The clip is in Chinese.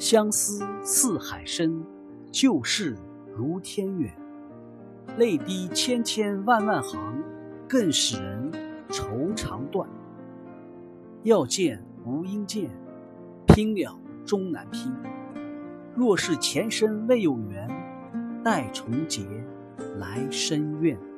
相思似海深，旧事如天远。泪滴千千万万行，更使人愁肠断。要见无应见，拼了终难拼。若是前生未有缘，待重结来生愿。